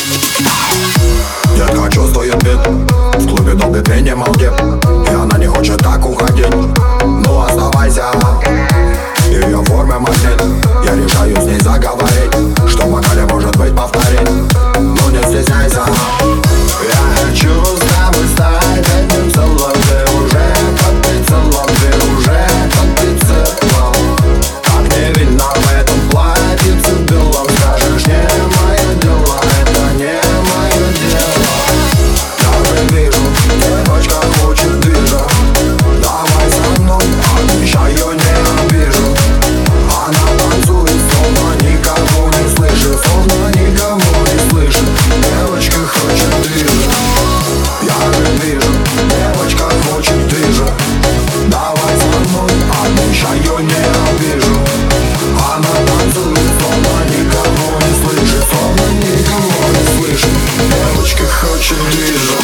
Детка чувствует бит, в клубе долго ты не молчит, и она не хочет так уходить. Ну оставайся, ее форме магнит. Я решаю с ней заговорить, что в вокале может быть повторить. Ну не стесняйся. Я хочу с тобой стать одним целым. Ты уже под прицелом, ты уже под прицелом. Как не видно в этом платьице белом. Скажешь, не мое дело, это не мое дело. Я уже вижу, девочка хочет движа. Давай со мной, обещаю, не обижу. Она танцует, словно никого не слышит, словно никого не слышит. Девочка хочет движа. Я уже вижу, девочка хочет движа. Давай со мной, обещаю, не обижу. Она танцует, словно никого не слышит, словно никого не слышит. Девочка хочет движа.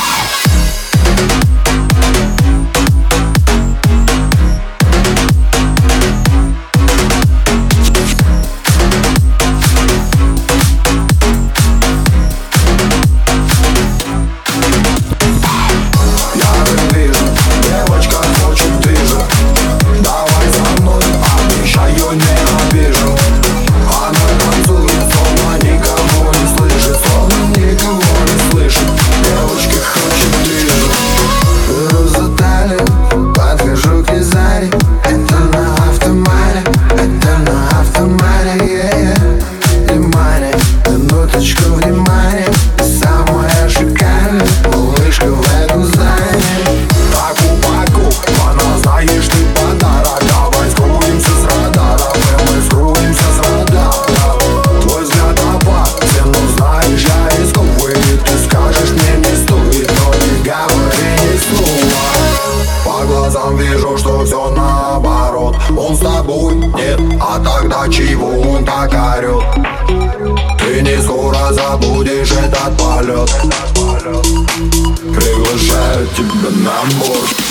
Вижу, что все наоборот. Он с тобой нет, а тогда чего он так орет? Ты не скоро забудешь этот полет. Приглашаю тебя на борт.